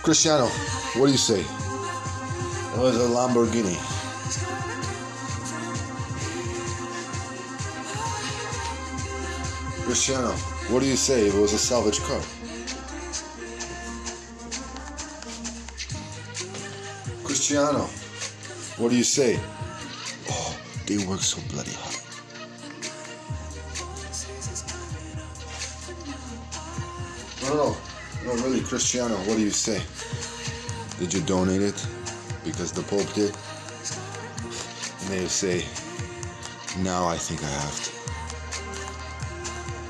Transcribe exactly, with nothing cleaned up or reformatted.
Cristiano, what do you say? It was a Lamborghini. Cristiano, what do you say? It was a salvage car. Cristiano, what do you say? Oh, they work so bloody hard. No, no, no, really, Cristiano, what do you say? Did you donate it because the Pope did? And they say, now I think I have to.